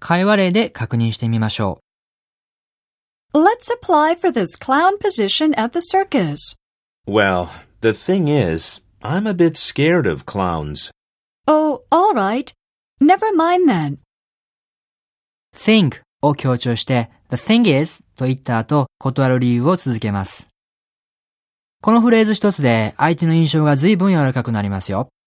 会話例で確認してみましょう。 Let's apply for this clown position at the circus. Well, the thing is, I'm a bit scared of clowns. Oh, all right. Never mind then. think を強調して the thing is と言った後、断る理由を続けます。このフレーズ一つで相手の印象が随分柔らかくなりますよ。